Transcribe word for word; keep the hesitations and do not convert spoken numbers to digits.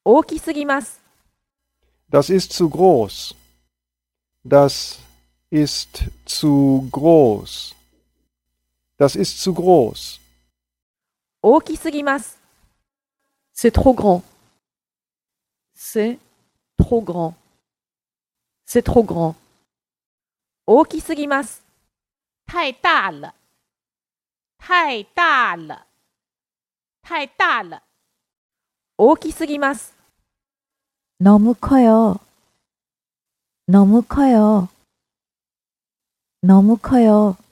大きすぎます。 Das ist zu groß. Das ist zu groß. Das ist zu groß. 大きすぎます。C'est trop grand. C'est trop grand. C'est trop grand. 大きすぎます。 太大了，太大了，太大了。 大きすぎます。 너무 커요. 너무 커요. 너무 커요.